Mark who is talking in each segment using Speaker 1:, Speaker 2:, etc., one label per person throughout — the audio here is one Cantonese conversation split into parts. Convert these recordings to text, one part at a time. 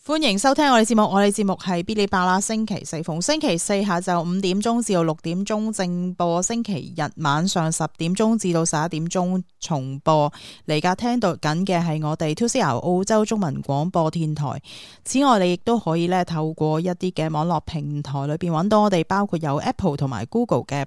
Speaker 1: 歡迎收聽我哋節目，我哋節目係嗶哩吧啦，星期四逢星期四下晝5點鐘至到6點鐘正播，星期日晚上10點鐘至到11點鐘重播。嚟家聽到緊嘅係我哋 2CR 澳洲中文廣播電台。此外，你亦都可以咧透過一啲嘅網絡平台裏邊揾到我哋，包括有 Apple 同埋 Google 嘅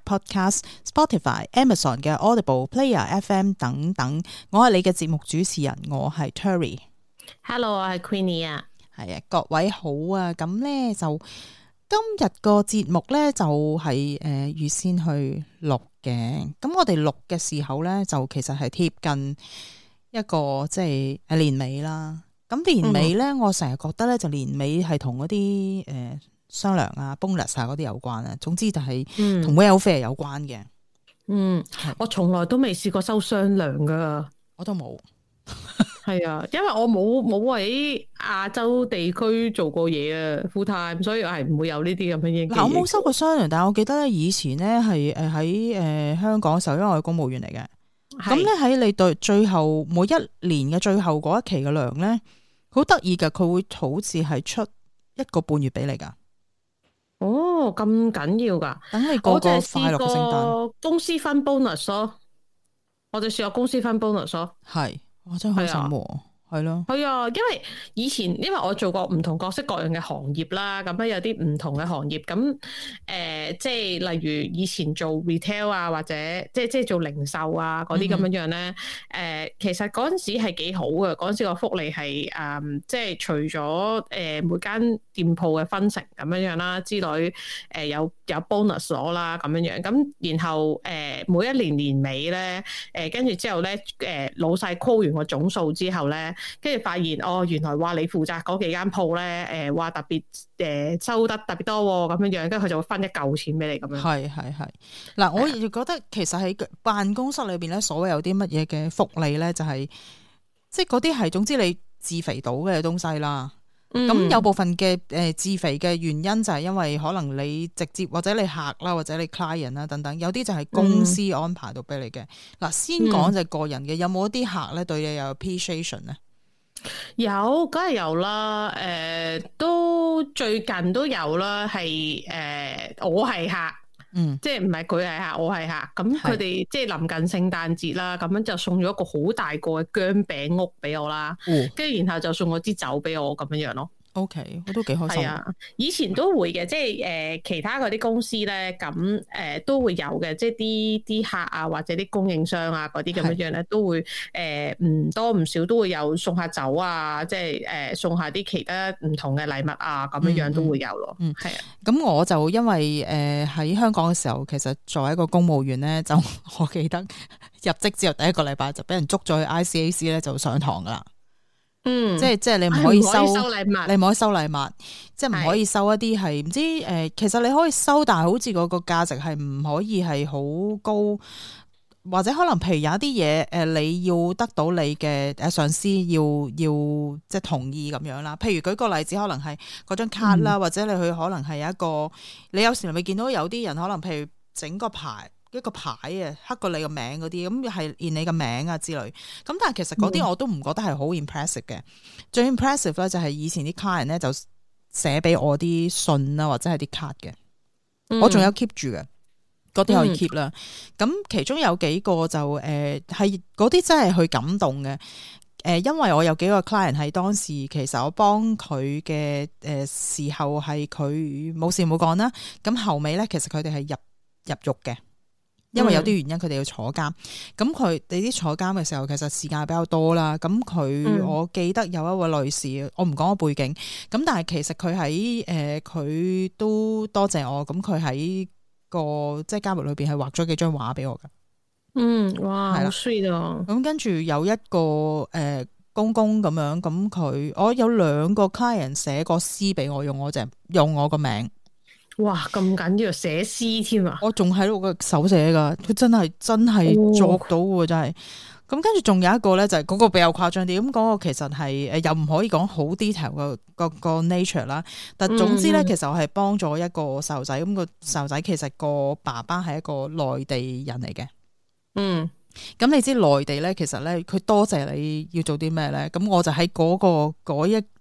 Speaker 1: Podcast、Spotify、Amazon 嘅 Audible、Player FM 等等。我係你嘅節目主持人，我係 Terry。Hello，
Speaker 2: 我係 Queenie 啊。
Speaker 1: 係啊，各位好啊！咁咧就今日個節目咧就係預先去錄嘅。咁我哋錄嘅時候咧就其實係貼近一個即係年尾啦。咁年尾咧，我成日覺得咧就年尾係同嗰啲商量啊、bonus 啊嗰啲有關啊。總之就係同 welfare 有關嘅。
Speaker 2: 我從來都未試過收商量噶，
Speaker 1: 我都冇。
Speaker 2: 係啊，因為我冇喺亞洲地區做過嘢啊 full time，所以我係唔會有呢啲咁嘅嘢。
Speaker 1: 我冇收過商量，但係我記得咧以前咧係喺香港嘅時候，因為我係公務員嚟嘅，咁咧喺你對最後每一年嘅最後嗰一期嘅糧咧，好得意㗎，佢會好似係出1個半月俾你噶。
Speaker 2: 哦，咁緊要噶？
Speaker 1: 等你過個快樂嘅聖誕。
Speaker 2: 公司分 bonus 咯，我就試過公司分 bonus 咯，
Speaker 1: 係。我真係開心喎，係咯，
Speaker 2: 係啊，因為以前因為我做過唔同各式各樣嘅行業啦，咁咧有啲唔同嘅行業，咁即係例如以前做 retail 啊，或者即係做零售啊嗰啲咁樣樣咧，其實嗰陣時係幾好嘅，嗰陣時個福利係即係除咗每間店鋪嘅分成咁樣樣啦之類，有 bonus 攞啦咁樣樣，咁然後每一年年尾咧，跟住之後咧，老細 call 完個總數之後咧，跟住發現原來話你負責嗰幾間鋪咧，話特別收得特別多咁樣樣，跟住佢就會分一嚿錢俾你咁樣。係。
Speaker 1: 嗱，我亦覺得其實喺辦公室裏邊咧，所謂有啲乜嘢嘅福利咧，就係即係嗰啲係總之你自肥到嘅東西啦。咁有部分嘅自肥嘅原因就係因為可能你直接或者你客啦，或者你 client 啦等等，有啲就係公司安排到俾你嘅。嗱，先講就係個人嘅，有冇一啲客咧對你有 appreciation 咧？
Speaker 2: 有，梗係有啦。都最近都有啦。係我係客，即係唔係佢係客，我係客。咁佢哋即係臨近聖誕節啦，咁樣就送咗一個好大個嘅薑餅屋俾我啦。跟住然後就送咗支酒俾我咁樣樣咯。OK， 我都幾開心。係啊，以前都會嘅，即係其他嗰啲公司咧，咁都會有嘅，即係啲客啊，或者啲供應商啊嗰啲咁樣樣咧，都會唔多唔少都會有送下酒啊，即係送下啲其他唔同嘅禮物啊，咁樣樣都會有咯。係啊。咁
Speaker 1: 我就因為喺香港嘅時候，其實作為一個公務員咧，就我記得入職之後第一個禮拜就俾人捉咗去 ICAC 咧，就上堂噶啦。即係你唔可以收禮物，你唔可以收禮物，即係唔可以收一啲係唔知其實你可以收，但係好似嗰個價值係唔可以係好高，或者可能譬如有一啲嘢你要得到你嘅上司要即係同意咁樣啦。譬如舉個例子，可能係嗰張卡啦，或者你去可能係一個你有時咪見到有啲人可能譬如整個牌。一個牌啊，刻過你個名嗰啲，咁係印你個名啊之類。咁但係其實嗰啲我都唔覺得係好 impressive 嘅。最 impressive 咧就係以前啲 client 咧就寫俾我啲信啦，或者係啲卡嘅。我仲有 keep 住嘅，嗰啲可以 keep 啦。咁其中有幾個就係嗰啲真係去感動嘅。因為我有幾個 client 係當時其實我幫佢嘅時候係佢冇事冇講啦。咁後尾咧其實佢哋係入獄嘅。因為有啲原因佢哋要坐監，咁佢哋啲坐監嘅時候其實時間比較多啦。咁我記得有一位女士，我唔講個背景，咁但係其實佢喺佢都多謝我，咁佢喺個即係監獄裏邊係畫咗幾張畫俾我㗎。
Speaker 2: 哇，好 sweet 啊！
Speaker 1: 咁跟住有一個公公咁樣，咁我有2個 client 寫個詩俾我，用我個名。
Speaker 2: 哇，咁緊要寫詩添啊！
Speaker 1: 我仲喺度個手寫噶，佢真係作到嘅，真係。咁跟住仲有一個咧，就係嗰個比較誇張啲。咁嗰個其實係又唔可以講好 detail 個 nature 啦。但總之咧，其實我係幫咗一個細路仔。咁個細路仔其實個爸爸係一個內地人嚟嘅。咁你知內地咧，其實咧佢多謝你要做啲咩咧？咁我就喺嗰一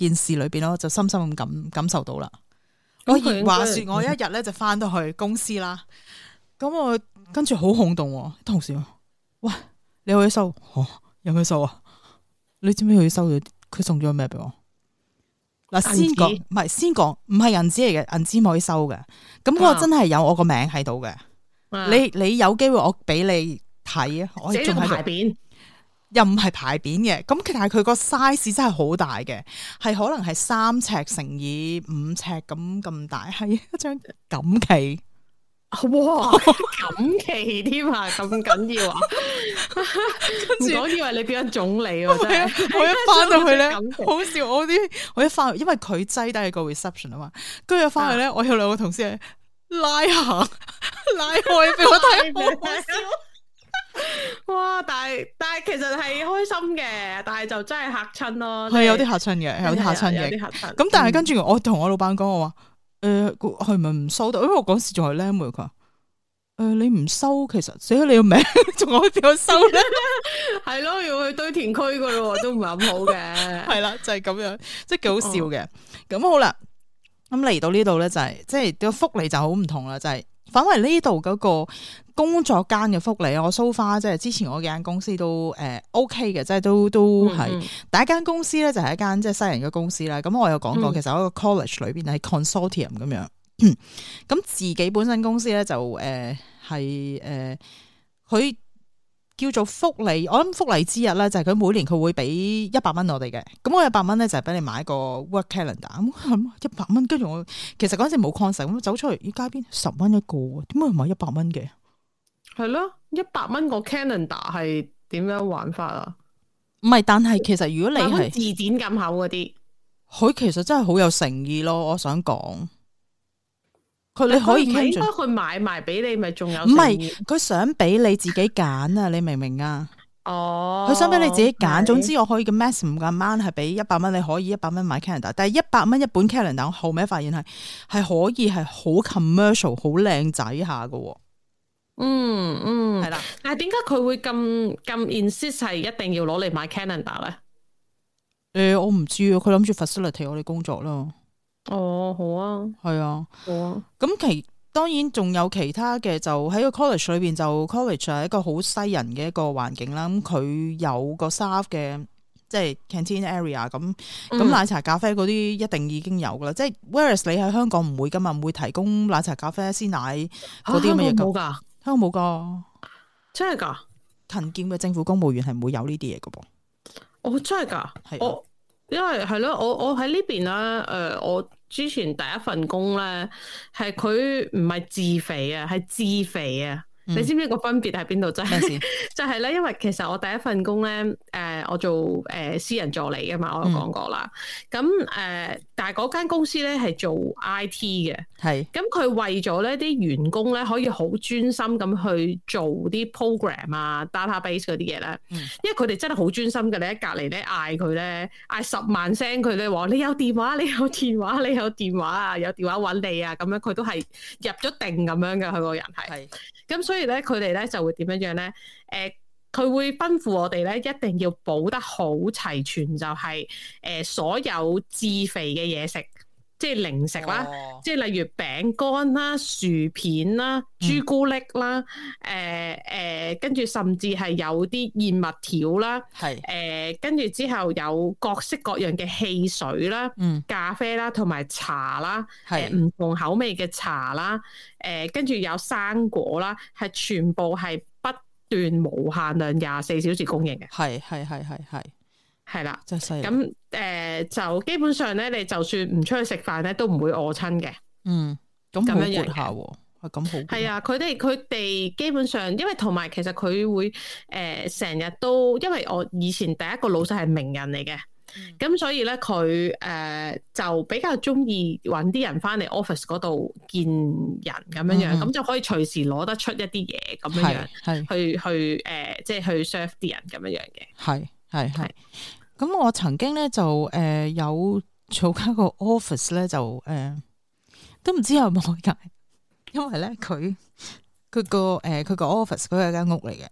Speaker 1: 件事裏邊咯，就深深咁感受到啦。我話說我一日咧就翻到去公司啦，咁我跟住好轟動，同事話：喂，你去收？有咩收啊？你知唔知佢收咗？佢送咗咩俾我？嗱，先講，唔係銀紙嚟嘅，銀紙唔可以收嘅。咁嗰個真係有我個名喺度嘅。你有機會我俾你睇啊，我仲喺牌匾，又唔係牌匾嘅。咁但係佢個 size 真係好大嘅，係可能係3尺乘以5尺咁大，係一張錦旗。
Speaker 2: 哇，錦旗添啊，咁緊要啊！唔講以為你變咗總理喎，真係。我一翻到去咧，好笑！我一翻，因為佢擠低係個 reception 啊嘛，跟住一翻去咧，我有2個同事拉開俾我睇，好笑。哇！但係其實係開心嘅，但係就真係嚇親咯。係有啲嚇親嘅，有啲嚇親嘅。咁但係跟住我同我老闆講，我話。係咪唔收得？因為我嗰時仲係靚妹，佢話你唔收，其實寫咗你個名，仲可以點樣收咧？係咯，要去堆填區噶咯，都唔係咁好嘅。係啦，就係咁樣，即係幾好笑嘅。咁好啦，咁嚟到呢度咧，就係即係個福利就好唔同啦，就係反為呢度嗰個工作間嘅福利，我 so far 即係之前我幾間公司都OK 嘅，即係都係第一間公司咧，就係一間即係西人嘅公司啦。咁我有講過，其實我個 college 裏邊係 consortium 咁樣。咁自己本身公司咧就係佢叫做福利。我諗福利之日咧就係佢每年佢會俾100蚊我哋嘅。咁我100蚊咧就係俾你買個 work calendar。咁100蚊，跟住我其實嗰陣時冇 concept，咁走出嚟，街邊10蚊一個，點解買100蚊嘅？係咯，100蚊個 calendar 係點樣玩法啊？唔係，但係其實如果你係字典咁厚嗰啲，佢其實真係好有誠意咯。我想講，你可以應該去買埋俾你，咪仲有？唔係，佢想俾你自己揀啊！你明唔明啊？哦，佢想俾你自己揀。總之我可以嘅 maximum amount 係俾100蚊，你可以100蚊買 calendar，但係100蚊一本 calendar，我後尾發現係可以係好 commercial、好靚仔下㗎。係啦，但係點解佢會咁 insist 係一定要攞嚟買 calendar 咧？我唔知啊，佢諗住 facilitate 我哋工作咯。哦，好啊，係啊，好啊。咁當然仲有其他嘅，就喺個 college 裏邊，就 college 係一個好西人嘅一個環境啦。咁佢有個 staff 嘅，即係 canteen area 咁奶茶咖啡嗰啲一定已經有噶啦。即係 whereas 你喺香港唔會噶嘛，唔會提供奶茶咖啡鮮奶嗰啲咁嘅嘢噶。冇噶，香港冇噶，真係噶。勤儉嘅政府公務員係唔會有呢啲嘢噶噃。哦，真係噶，係因為係咯，我喺呢邊啦。我之前第一份工咧，係佢唔係自肥啊，係自肥啊。你知唔知個分別喺邊度？就係咧，因為其實我第一份工咧，我做私人助理噶嘛，我有講過啦。咁但係嗰間公司咧係做 IT 嘅，係咁佢為咗咧啲員工咧可以好專心咁去做啲 program 啊、database 嗰啲嘢咧，因為佢哋真係好專心嘅。你喺隔離咧嗌佢咧嗌10萬聲佢咧話你有電話，你有電話，你有電話啊，有電話揾你啊，咁樣佢都係入咗定咁樣嘅。佢個人係咁，所以咧佢哋咧就會點樣咧？佢會吩咐我哋咧，一定要補得好齊全，就係所有致肥嘅嘢食，即係零食啦，即係例如餅乾啦、薯片啦、朱古力啦，跟住甚至係有啲燕麥條啦，跟住之後有各式各樣嘅汽水啦、咖啡啦同埋茶啦，唔同口味嘅茶啦，跟住有生果啦，係全部係段無限量24小時供應嘅，係啦，真係犀利。咁就基本上咧，你就算唔出去食飯咧，都唔會餓親嘅。咁好活下喎，係咁好。係啊，佢哋基本上，因為同埋其實佢會成日都，因為我以前第一個老細係名人嚟嘅。咁所以咧，佢就比較中意揾啲人翻嚟 office 嗰度見人咁樣樣，咁就可以隨時攞得出一啲嘢咁樣樣，去即係去 serve 啲人咁樣樣嘅。係。咁我曾經咧就有做間個 office 咧，就都唔知有冇解，因為咧佢個 office 佢係間屋嚟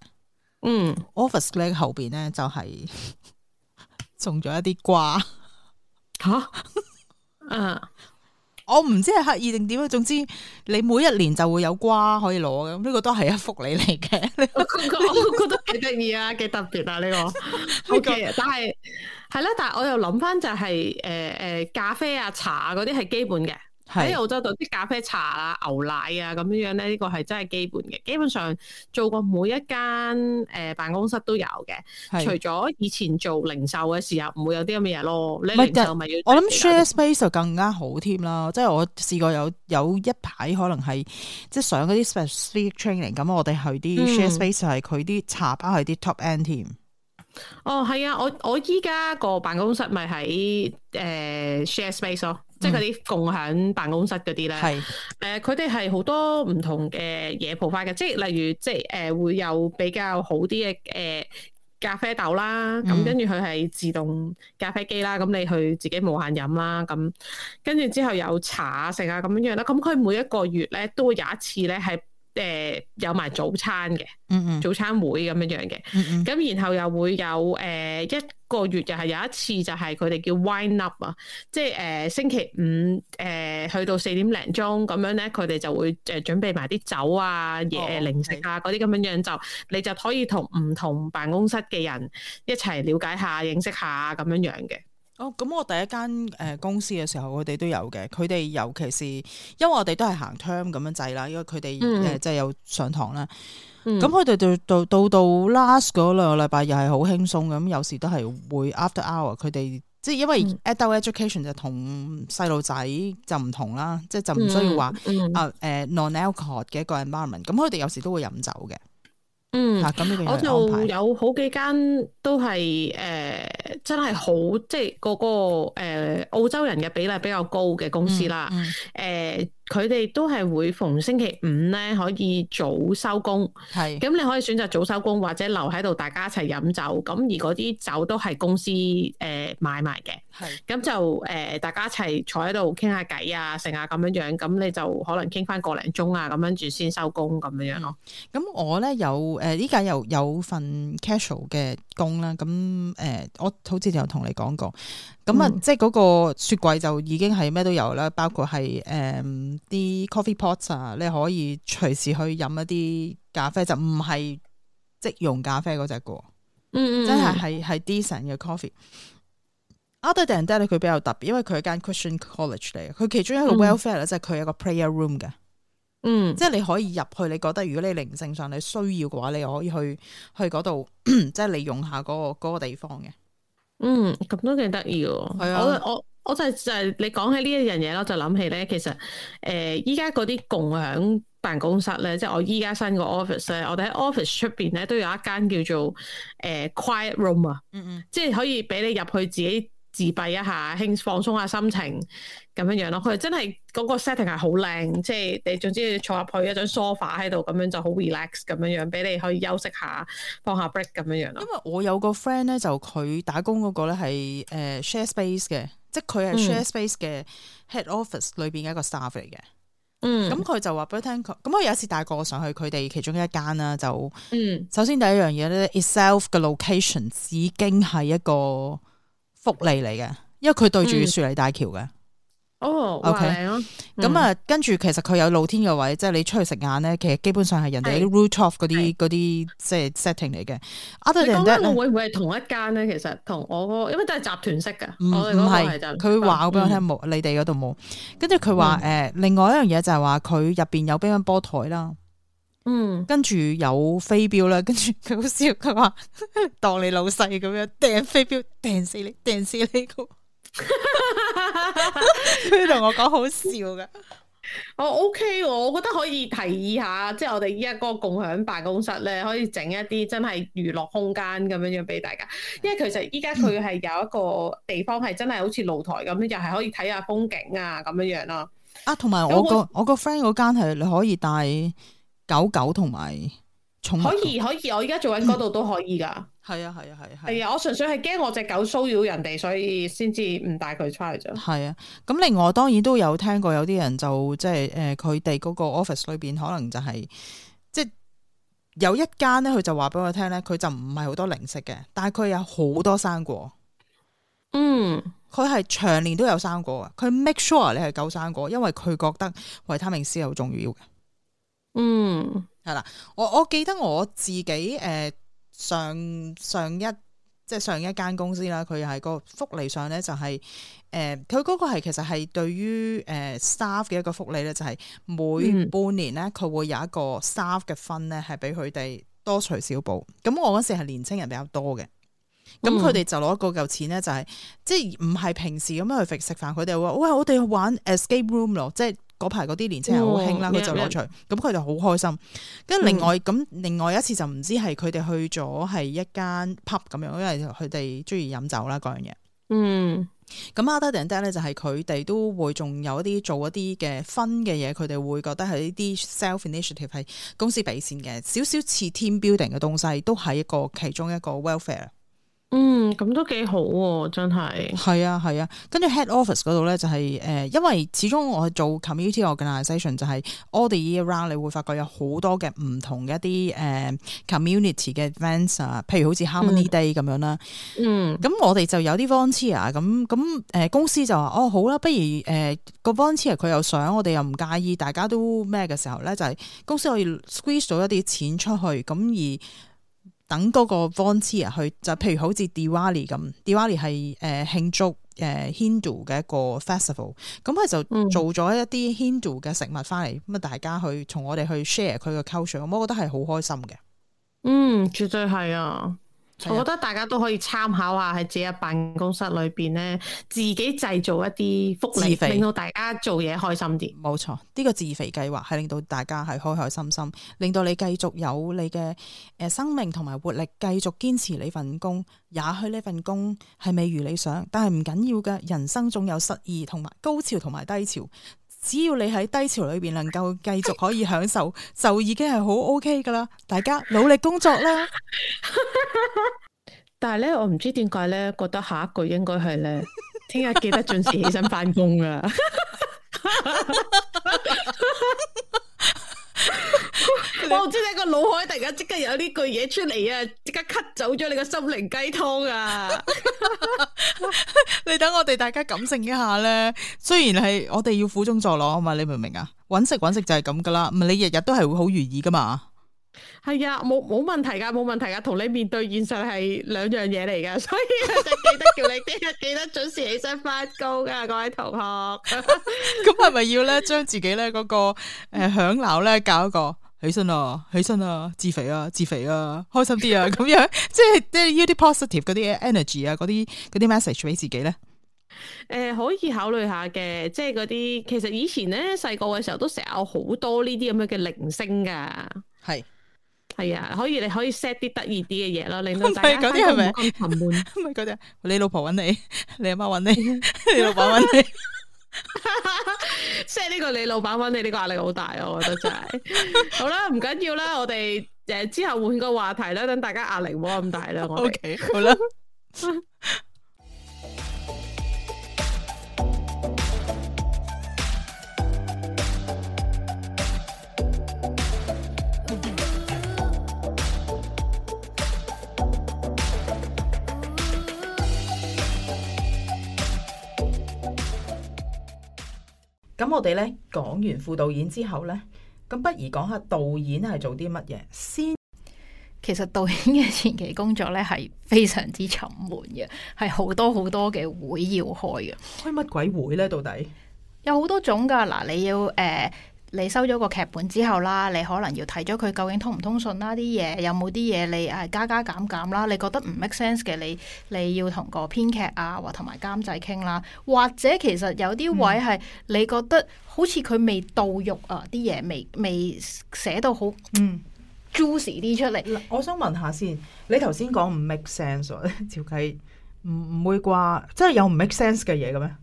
Speaker 2: 嘅。office 咧後邊咧就係。種咗一啲瓜， 吓，嗯。
Speaker 1: 我唔知係刻意定點啊，總之你每一年就會有瓜可以攞嘅，咁呢個都係一福利嚟嘅。
Speaker 2: 我覺得幾得意啊，幾特別啊呢個。O K，但係係啦，但係我又諗翻就係咖啡啊茶啊嗰啲係基本嘅。喺澳洲度啲咖啡茶啊牛奶啊咁樣樣咧，呢個係真係基本嘅。基本上做過每一間辦公室都有嘅，除咗以前做零售嘅時候唔會有啲咁嘅嘢咯。你零售咪要
Speaker 1: 我諗 share space 就更加好添啦。即係我試過有一排可能係即係上嗰啲 specific training 咁，我哋去啲 share space 係佢啲茶包係啲 top end 添。
Speaker 2: 哦，係啊，我依家個辦公室咪喺share space 咯。即係嗰啲共享辦公室嗰啲咧，佢哋係好多唔同嘅嘢 provide 嘅，即係例如即係會有比較好啲嘅咖啡豆啦，咁跟住佢係自動咖啡機啦，咁你去自己無限飲啦，咁跟住之後有茶食啊咁樣樣啦，咁佢每一個月咧都會有一次咧係有埋早餐嘅，早餐會咁樣樣嘅，咁然後又會有一個月又係有一次就係佢哋叫 wine up 啊，即係星期五去到4點零鐘咁樣咧，佢哋就會準備埋啲酒啊、嘢零食啊嗰啲咁樣樣，就你就可以同唔同辦公室嘅人一齊了解下、認識下咁樣樣嘅。
Speaker 1: 哦，咁我第一間公司嘅時候，佢哋都有嘅。佢哋尤其是因為我哋都係行 term 咁樣制啦，因為佢哋即係有上堂啦。咁佢哋到 last 嗰2個禮拜又係好輕鬆咁，有時都係會 after hour。佢哋即係因為 adult education 就同細路仔就唔同啦，即係就唔需要話non-alcohol 嘅一個 environment。咁佢哋有時都會飲酒嘅。咁呢個我
Speaker 2: 就有好幾間都係真係好，即係嗰個澳洲人嘅比例比較高嘅公司啦。佢哋都係會逢星期五咧可以早收工，咁你可以選擇早收工或者留喺度大家一齊飲酒。咁而嗰啲酒都係公司買埋嘅，咁就大家一齊坐喺度傾下偈啊，剩下咁樣樣，咁你就可能傾翻個零鐘啊，咁跟住先收工咁樣樣咯。咁
Speaker 1: 我咧有呢家有份 casual 嘅工啦，咁我好似有同你講過，咁即係嗰個雪櫃就已經係咩都有啦，包括係啲 coffee pots 啊，你可以隨時去飲一啲咖啡，就唔係即溶咖啡嗰隻個，真係 decent 嘅 coffee。Other than that 佢比較特別，因為佢係間 Christian college 嚟嘅，佢其中一個 welfare 咧，即係佢有個 prayer room 嘅，即係你可以入去，你覺得如果你靈性上你需要嘅話，你可以去嗰度，即係利用下嗰個地方嘅。
Speaker 2: 咁都幾得意喎。係啊，我就係你講起呢一樣嘢咯，就諗起咧，其實依家嗰啲共享辦公室咧，即係我依家新個 office 咧，我哋喺 office 出邊咧都有一間叫做quiet room 啊，即係可以俾你入去自己自閉一下，放鬆下心情咁樣樣咯。佢真係嗰個 setting 係好靚，即係你總之坐入去一張 sofa 喺度咁樣就好 relax 咁樣樣，俾你可以休息下，放下 break 咁樣樣咯。因為
Speaker 1: 我有個 friend 咧，就佢打工嗰個咧係share space 嘅，即係佢係 share space 嘅 head office 裏邊嘅一個 staff 嚟嘅。咁佢就話俾佢聽，咁我有一次帶過上去佢哋其中一間啦，就首先第一樣嘢咧 itself 嘅 location 已經係一個福利嚟嘅，因為佢對住雪梨大橋嘅。OK 咁跟住其實佢有露天嘅位，即係你出去食晏咧，其實基本上係人哋啲 rooftop 嗰啲即係 setting 嚟嘅。你講緊
Speaker 2: 會唔會係同一間咧？其實同我因為都係集團式嘅，我哋
Speaker 1: 唔係佢話俾我聽冇，你哋嗰度冇。跟住佢話另外一樣嘢就係話佢入邊有乒乓波台啦。跟住有飛鏢啦，跟住佢好笑，佢話當你老細咁樣掟飛鏢，掟死你個，佢同我講好笑噶。
Speaker 2: OK，我覺得可以提議下，即係我哋依家嗰個共享辦公室咧，可以整一啲真係娛樂空間咁樣樣俾大家。因為其實依家佢係有一個地方係真係好似露台咁樣，又係可以睇下風景啊咁樣樣咯。
Speaker 1: 同埋我個 friend 嗰間係你可以帶狗同埋寵物，可以，
Speaker 2: 我而家做緊嗰度都可以噶。
Speaker 1: 係啊，
Speaker 2: 我純粹係驚我隻狗騷擾人哋，所以先至唔帶佢出去啫。
Speaker 1: 係啊，咁另外當然都有聽過有啲人就即係佢哋嗰個 office 裏邊可能就係即係有一間咧，佢就話俾我聽咧，佢就唔係好多零食嘅，但係佢有好多生果。 佢係長年都有生果啊，佢 make sure 你係夠生果，因為佢覺得維他命 C 係好重要嘅。係啦，我記得我自己上一間公司啦，佢係個福利上咧就係佢嗰個係其實係對於staff 嘅一個福利咧，就係每半年咧佢會有一個 staff 嘅分咧係俾佢哋多除少補。咁我嗰時係年青人比較多嘅，咁佢哋就攞嗰嚿錢咧就係即係唔係平時咁樣去食飯，佢哋話喂，我哋去玩 escape room 咯，即係嗰排嗰啲年青人好興啦，佢就攞除，咁佢就好開心。跟住另外一次就唔知係佢哋去咗係一間 pub 咁樣，因為佢哋中意飲酒啦嗰樣嘢。咁 other than that 咧就係佢哋都會仲有一啲做一啲嘅分嘅嘢，佢哋會覺得係呢啲 self initiative 係公司俾錢嘅，少少似 team building 嘅東西，都係一個其中一個 welfare。
Speaker 2: 咁都幾好喎，真係。係
Speaker 1: 啊，跟住 head office 嗰度咧就係因為始終我做 community organisation 就係 all the year round，你會發覺有好多嘅唔同嘅一啲community 嘅 events 啊，譬如好似 Harmony Day 咁樣啦。咁我哋就有啲 volunteer 咁公司就話好啦，不如個 volunteer 佢又想，我哋又唔介意，大家都咩嘅時候咧，就係公司可以 squeeze 到一啲錢出去，咁而等嗰個 volunteer 去，就譬如好似 Diwali 咁，Diwali 係慶祝Hindu 嘅一個 festival，咁佢就做咗一啲 Hindu 嘅食物翻嚟，咁大家去從我哋去 share 佢嘅 culture，咁我覺得係好開心嘅。
Speaker 2: 絕對係啊！我覺得大家都可以參考下喺自己嘅辦公室裏邊咧，自己製造一啲福利，令到大家做嘢開心啲。冇錯，呢個自肥計劃係令到大家係開開心心，令到你繼續有你嘅生命同埋活力，繼續堅持你份工。也許呢份工係未如理想，但係唔緊要嘅，人生總有失意同埋高潮同埋低潮。只要你喺低潮裏邊能夠繼續可以享受，就已經係好 OK 噶啦。大家努力工作啦。但係咧，我唔知點解咧，覺得下一句應該係咧，聽日記得準時起身翻工啊！我唔知你個腦海突然間即刻有呢句嘢出嚟啊，即刻 cut 走咗你個心靈雞湯啊！你等我哋大家感性一下咧，雖然係我哋要苦中作樂啊嘛，你明唔明啊？搵食就係咁噶啦，唔係你日日都係會好如意噶嘛？係啊，冇問題噶，冇問題噶，同你面對現實係兩樣嘢嚟噶，所以就記得叫你聽日記得準時起身翻工噶，各位同學。咁係咪要咧將自己咧嗰個響鬧咧教一個起身啊，自肥啊，開心啲啊，咁樣即係要啲 positive 嗰啲 energy 啊，嗰啲 message 俾自己咧？可以考慮下嘅，即係嗰啲其實以前咧細個嘅時候都成日有好多呢啲咁樣嘅鈴聲噶，係啊，你可以 set 啲得意啲嘅嘢咯，令到大家嗰啲係咪咁沉悶？唔係嗰啲，你老婆揾你，你阿媽揾你，你老闆揾你，set 呢個你老闆揾你呢個壓力好大啊！我覺得真係。好啦，唔緊要啦，我哋之後換個話題啦，等大家壓力唔好咁大啦。我哋 OK 好啦。咁我哋咧講完副導演之後咧，咁不如講下導演係做啲乜嘢先。其實導演嘅前期工作咧係非常之沉悶嘅，係好多嘅會要開嘅。開乜鬼會咧？到底有好多種噶。嗱，你要你收咗個劇本之後啦，你可能要睇咗佢究竟通唔通順啦，啲嘢有冇啲嘢你加減啦，你覺得唔 make sense 嘅，你要同個編劇啊或同埋監製傾啦，或者其實有啲位係你覺得好似佢未到肉啊，啲嘢未寫到好juicy 啲出嚟。我想問下先，你頭先講唔 make sense，照計唔會啩？真係有唔 make sense 嘅嘢嘅咩？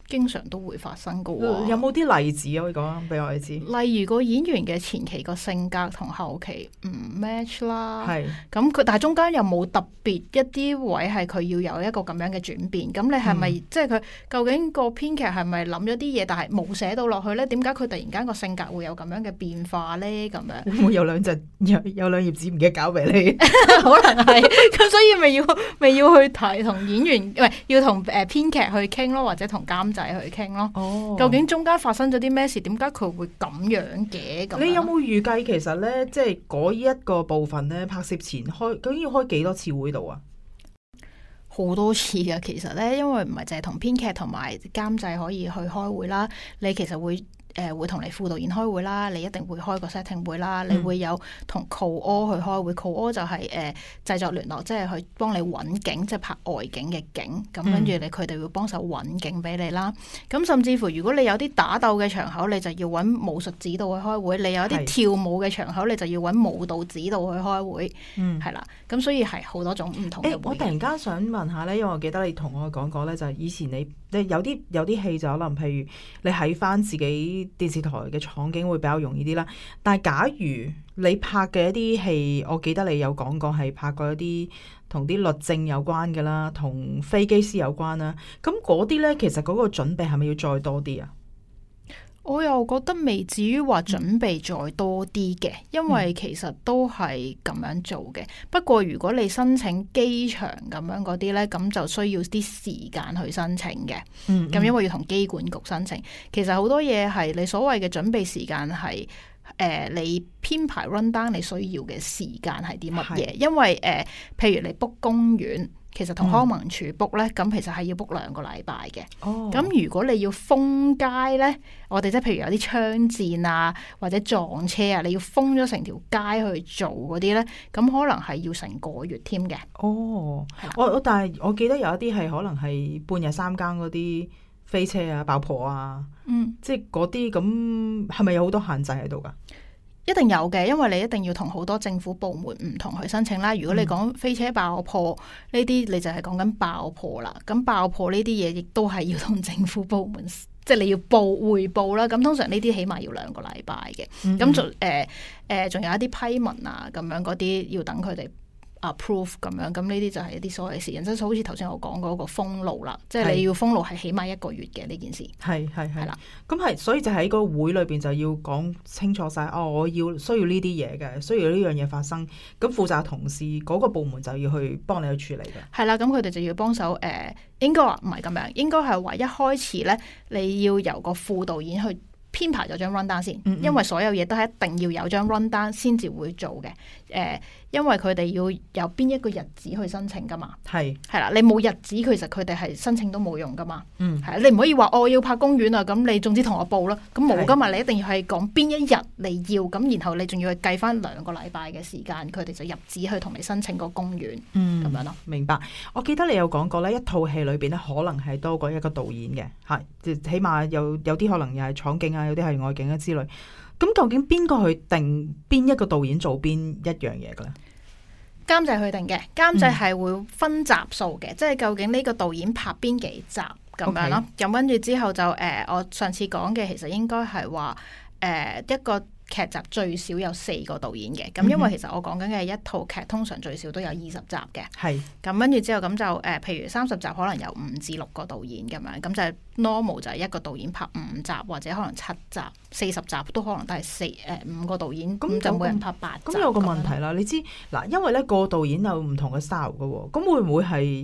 Speaker 3: 經常都會發生噶。
Speaker 1: 有冇啲例子可以講俾我哋知？
Speaker 3: 例如個演員嘅前期個性格同後期唔 match 啦，
Speaker 1: 係
Speaker 3: 咁佢但係中間又冇特別一啲位係佢要有一個咁樣嘅轉變。咁你係咪即係佢究竟個編劇係咪諗咗啲嘢，但係冇寫到落去咧？點解佢突然間個性格會有咁樣嘅變化咧？咁樣
Speaker 1: 會唔會有兩頁紙唔記得交俾你？
Speaker 3: 可能係咁，所以咪要去提同演員，唔係要同編劇去傾咯，或者同監製去傾咯。哦，究竟中間發生咗啲咩事？點解佢會咁樣嘅？咁
Speaker 1: 你有冇預計其實咧，即係嗰一個部分咧，拍攝前究竟要開幾多次會度啊？
Speaker 3: 好多次㗎，其實咧，因為唔係淨係同編劇同埋監製可以去開會啦，你其實會同你副導演開會啦，你一定會開個 setting 會啦，你會有同 co-o 去開會，co-o 就係製作聯絡，即係去幫你揾景，即係拍外景嘅景，咁跟住佢哋會幫手揾景俾你啦。咁甚至乎如果你有啲打鬥嘅場口，你就要揾武術指導去開會；你有啲跳舞嘅場口，你就要揾舞蹈指導去開會。係啦，咁所以係好多種唔同嘅會。
Speaker 1: 我突然間想問下咧，因為我記得你同我講過咧，就係以前你有啲戲就可能，譬如你喺翻自己電視台嘅場景會比較容易啲啦，但係假如你拍嘅一啲戲，我記得你有講過係拍過一啲同啲律政有關嘅啦，同飛機師有關啦，咁嗰啲呢，其實嗰個準備係咪要再多啲啊？
Speaker 3: 我又覺得未至於話準備再多啲嘅，因為其實都係咁樣做嘅。不過如果你申請機場咁樣嗰啲呢，咁就需要啲時間去申請嘅。咁因為要同機管局申請，其實好多嘢係你所謂嘅準備時間係你編排 run down 你需要嘅時間係啲乜嘢？因為譬如你 book 公園。其實同康文署 book 咧，咁其實係要 book 2個禮拜嘅。咁如果你要封街咧，我哋即係譬如有啲槍戰啊，或者撞車啊，你要封咗成條街去做嗰啲咧，咁可能係要成個月添嘅。
Speaker 1: 但係我記得有一啲係可能係半夜三更嗰啲飛車啊、爆破啊，即係嗰啲咁，係咪有好多限制喺度噶？
Speaker 3: 一定有嘅，因為你一定要同好多政府部門唔同去申請啦。如果你講飛車爆破呢啲，你就係講緊爆破啦。咁爆破呢啲嘢亦都係要同政府部門，即係你要匯報啦。咁通常呢啲起碼要2個禮拜嘅。咁仲有一啲批文啊，咁樣嗰啲要等佢哋approve 咁樣。咁呢啲就係一啲所謂嘅時間，即係好似頭先我講嗰個封路啦。即係你要封路係起碼1個月嘅呢件事。係
Speaker 1: 啦。咁係，所以就喺個會裏邊就要講清楚晒。我需要呢啲嘢嘅，需要呢樣嘢發生。咁負責同事嗰個部門就要去幫你去處理嘅。
Speaker 3: 係啦，咁佢哋就要幫手。應該話唔係咁樣，應該係話一開始咧，你要由個副導演去編排咗張 run down 先，因為所有嘢都係一定要有張 run down 先至會做嘅。因為佢哋要有邊一個日子去申請噶嘛，係啦，你冇日子，其實佢哋係申請都冇用噶嘛，係你唔可以話我要拍公園啊，咁你總之同我報啦，咁冇噶嘛，你一定要係講邊一日你要，咁然後你仲要去計翻2個禮拜嘅時間，佢哋就入紙去同你申請個公園，咁樣咯。明白。
Speaker 1: 我記得你有講過咧，一套戲裏邊咧可能係多過一個導演嘅，係起碼有啲可能又係廠景啊，有啲係外景啊之類。咁究竟邊個去定邊一個導演做邊一樣嘢嘅咧？
Speaker 3: 監製去定嘅，監製係會分集數嘅，即係究竟呢個導演拍邊幾集咁樣咯。咁跟住之後就我上次講嘅其實應該係話一個劇集最少有4個導演嘅，咁因為其實我講緊嘅一套劇通常最少都有20集嘅，係咁跟住之後咁就譬如30集可能有5至6個導演咁樣，咁就係 normal 就係一個導演拍5集或者可能7集，40集都可能都係5個導演，咁就每人拍8集。
Speaker 1: 咁有個問題啦，你知嗱，因為咧個導演有唔同嘅 style 噶，咁會唔會係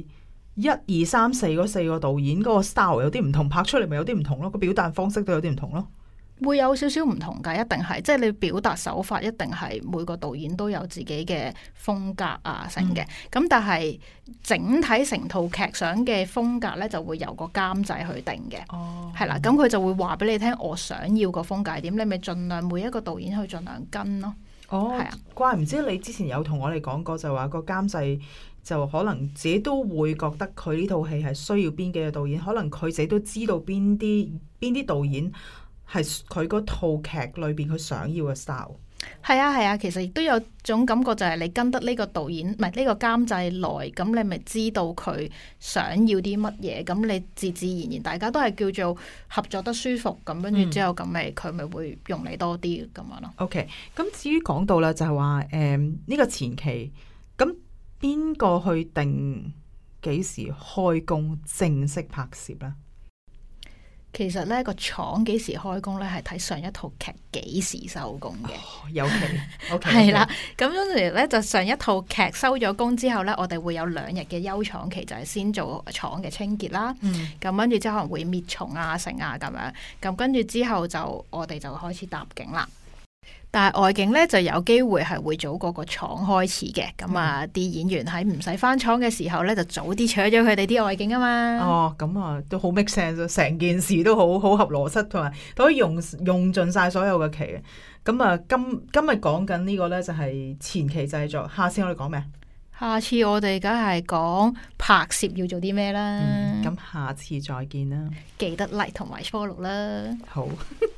Speaker 1: 1、2、3、4嗰4個導演嗰個 style 有啲唔同，拍出嚟咪有啲唔同咯，個表達方式都有啲唔同咯。
Speaker 3: 會有少少唔同㗎，一定係，即係你表達手法一定係每個導演都有自己嘅風格啊成嘅，咁但係整體成套劇想嘅風格咧就會由個監製去定嘅，係啦，咁佢就會話俾你聽我想要個風格係點，你咪盡量每一個導演去盡量跟咯。係啊，
Speaker 1: 怪唔知你之前有同我哋講過，就話個監製就可能自己都會覺得佢呢套戲係需要邊幾個導演，可能佢自己都知道邊啲導演係佢嗰套劇裏邊佢想要嘅 style。
Speaker 3: 係啊，其實亦都有種感覺，就係你跟得呢個導演，唔係呢個監製耐，咁你咪知道佢想要啲乜嘢，咁你自自然然大家都係叫做合作得舒服，咁跟住之後咁咪佢咪會用你多啲咁樣咯。
Speaker 1: OK，咁至於講到啦，就係話呢個前期，咁邊個去定幾時開工正式拍攝咧？
Speaker 3: 其實咧個廠幾時開工咧，係睇上一套劇幾時收工嘅。
Speaker 1: 有期，OK，
Speaker 3: 係啦。咁嗰時咧就上一套劇收咗工之後咧，我哋會有2日嘅休廠期，就係先做廠嘅清潔啦。咁跟住之後可能會滅蟲啊、剩啊咁樣。咁跟住之後就我哋就開始搭景啦。但係外景咧就有機會係會早過個廠開始嘅，咁啊啲演員喺唔使返廠嘅時候咧，就早啲取咗佢哋啲外景啊嘛。
Speaker 1: 哦，咁啊都好 make sense， 成件事都好合邏輯，同埋都可以用盡晒所有嘅期嘅。咁啊今日講緊呢個咧就係前期製作，下次我哋講咩？
Speaker 3: 下次我哋梗係講拍攝要做啲咩啦。
Speaker 1: 咁下次再見啦，
Speaker 3: 記得 like 同埋 follow 啦。
Speaker 1: 好。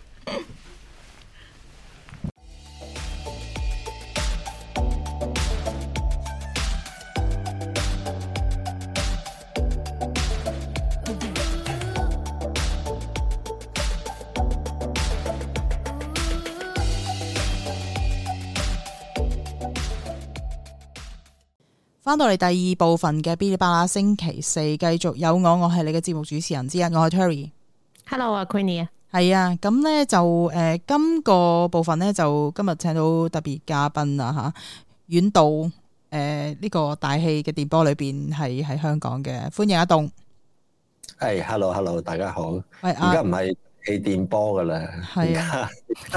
Speaker 1: 翻到嚟第二部分嘅嗶哩吧啦，星期四繼續有我係你嘅節目主持人之一，我係 Terry。Hello
Speaker 2: 啊 Queenie 啊，
Speaker 1: 係啊，咁咧就今個部分咧就今日請到特別嘉賓啊吓，遠道呢個大氣嘅電波裏邊係喺香港嘅，歡迎阿棟。
Speaker 4: 係，hello，大家好。
Speaker 1: 喂，
Speaker 4: 而家唔係氣電波噶啦，
Speaker 1: 係啊，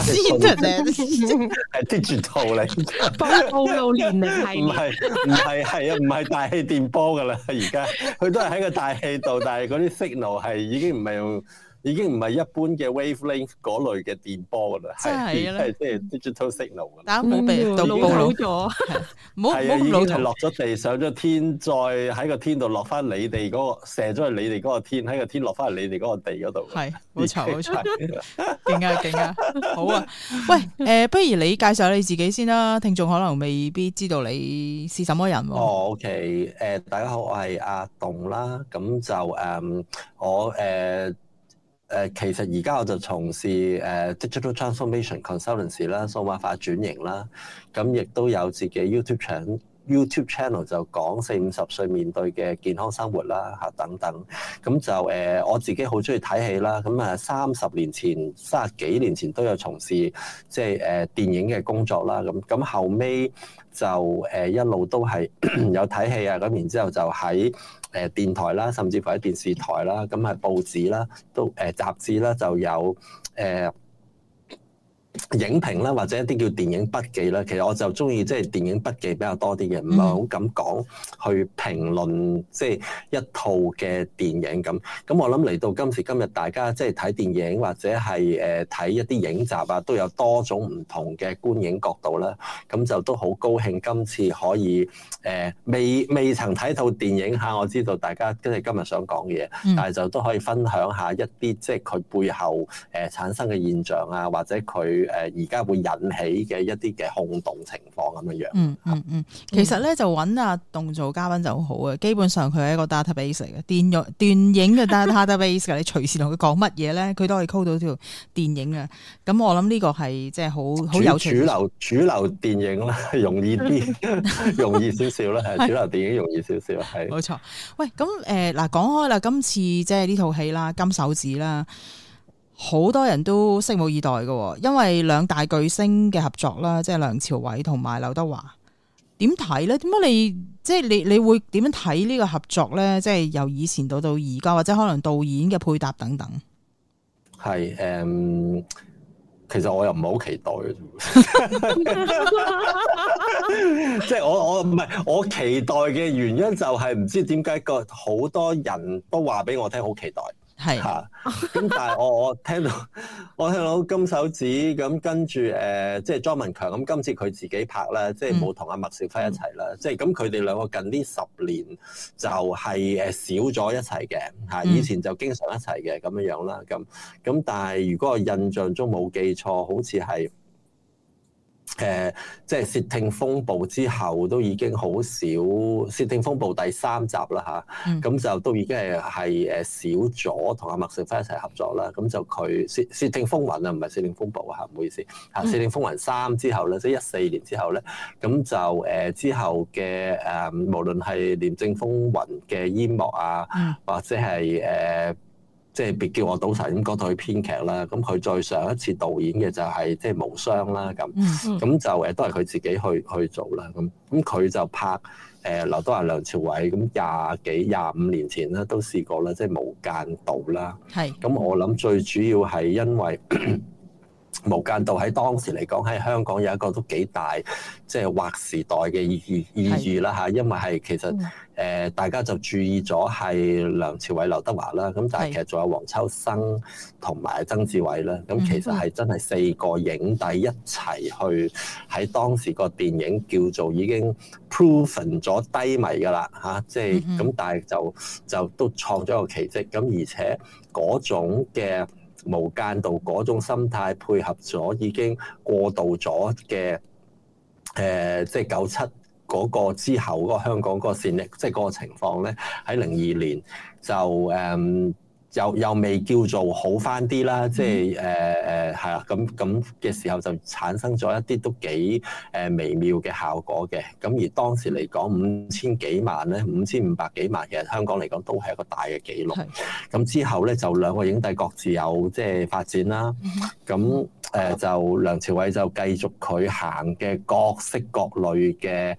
Speaker 4: 係 digital 嚟，
Speaker 2: 暴露年齡係
Speaker 4: 唔係大氣電波噶啦，而家佢都係喺個大氣度，但係嗰啲 signal 係已經唔係一般嘅 wavelength 嗰類嘅電波噶啦，係即係 digital signal 噶啦。
Speaker 1: 大家唔好被暴露咗，唔好
Speaker 4: 已經係落咗地，上咗天，再喺個天度落翻你哋嗰個，射咗去你哋嗰個天，喺個天落翻去你哋嗰個地嗰度。係，冇錯，勁啊，好啊！喂，不如你介紹下你自己先啦，聽眾可能未必知道你是什麼人。OK， 大家好，我係阿棟啦，咁就我其實而家我就從事digital transformation consultancy 啦，數碼化轉型啦，咁亦都有自己 YouTube channel 就講40-50歲面對嘅健康生活啦嚇等等，咁就我自己好中意睇戲啦，咁啊30幾年前都有從事即係電影嘅工作啦，咁後尾就一路都係有睇戲啊，咁然之後就喺電台啦，甚至乎喺電視台啦，咁係報紙啦，都雜誌啦，就有影評啦，或者一啲叫電影筆記啦。其實我就中意即係電影筆記比較多啲嘅，唔係好敢講去評論即係一套嘅電影咁。咁我諗嚟到今時今日，大家即係睇電影或者係睇一啲影集啊，都有多種唔同嘅觀影角度啦。咁就都好高興今次可以未曾睇套電影嚇，我知道大家即係今日想講嘅嘢，但係就都可以分享下一啲即係佢背後產生嘅現象啊，或者佢而家會引起嘅一啲嘅轟動情況咁樣樣。
Speaker 1: 其實咧就揾阿棟做嘉賓就好好嘅，基本上佢係一個 database 嚟嘅，電影嘅 database 嘅，你隨時同佢講乜嘢咧，佢都可以 call 到條電影嘅。咁我諗呢個係即係好有趣。主流電影啦，容易啲，容易少少啦，係主流電影容易少少，係。冇錯。喂，咁嗱講開啦，今次即係呢套戲啦，《金手指》啦。好多人都拭目以待嘅，因為兩大巨星嘅合作啦，即係梁朝偉同埋劉德華，點睇咧？點解你會點樣睇呢個合作咧？即係由以前到而家，或者可能導演嘅配搭等等。係
Speaker 4: 其實我又唔係好期待嘅，即係我唔係我期待嘅原因就係唔知點解好多人都話俾我聽好期待。係嚇，咁但係我聽到金手指咁，跟住即係莊文強咁，今次佢自己拍啦，即係冇同阿麥兆輝一齊啦，即係咁佢哋兩個近呢10年就係少咗一齊嘅嚇，以前就經常一齊嘅咁樣樣啦，咁但係如果我印象中冇記錯，好似係即係竊聽風暴之後都已經好少，竊聽風暴第3集啦嚇，咁就都已經係少咗同阿麥兆輝一齊合作啦。咁就佢竊聽風雲啊，唔係竊聽風暴啊，唔好意思嚇。竊聽風雲3之後咧，即係14年之後咧，咁就之後嘅無論係廉政風雲嘅煙幕啊，或者係即係別叫我賭神咁嗰套編劇啦，咁佢再上一次導演嘅就係即係無雙啦，咁就都係佢自己去做啦，咁佢就拍劉德華、梁朝偉咁25年前啦都試過啦，即係無間道啦，咁我諗最主要係因為無間道喺當時嚟講喺香港有一個都幾大即係劃時代嘅意義啦嚇，因為係其實大家就注意咗係梁朝偉、劉德華啦，咁但係其實仲有黃秋生同埋曾志偉啦，咁其實係真係4個影帝一齊去喺當時個電影叫做已經 proven 咗低迷㗎啦嚇，即係咁，但係就都創咗個奇蹟，咁而且嗰種嘅無間道嗰種心態配合咗已經過渡咗嘅即係97嗰個之後嗰個香港嗰個戰力，即係嗰個情況咧，喺02年就又未叫做好返啲啦，即係係啦，咁嘅時候就產生咗一啲都幾微妙嘅效果嘅。咁而當時嚟講5000幾萬咧，5500幾萬，其實香港嚟講都係一個大嘅紀錄。咁之後咧就2個影帝各自有即係發展啦。咁就梁朝偉就繼續佢行嘅各式各類嘅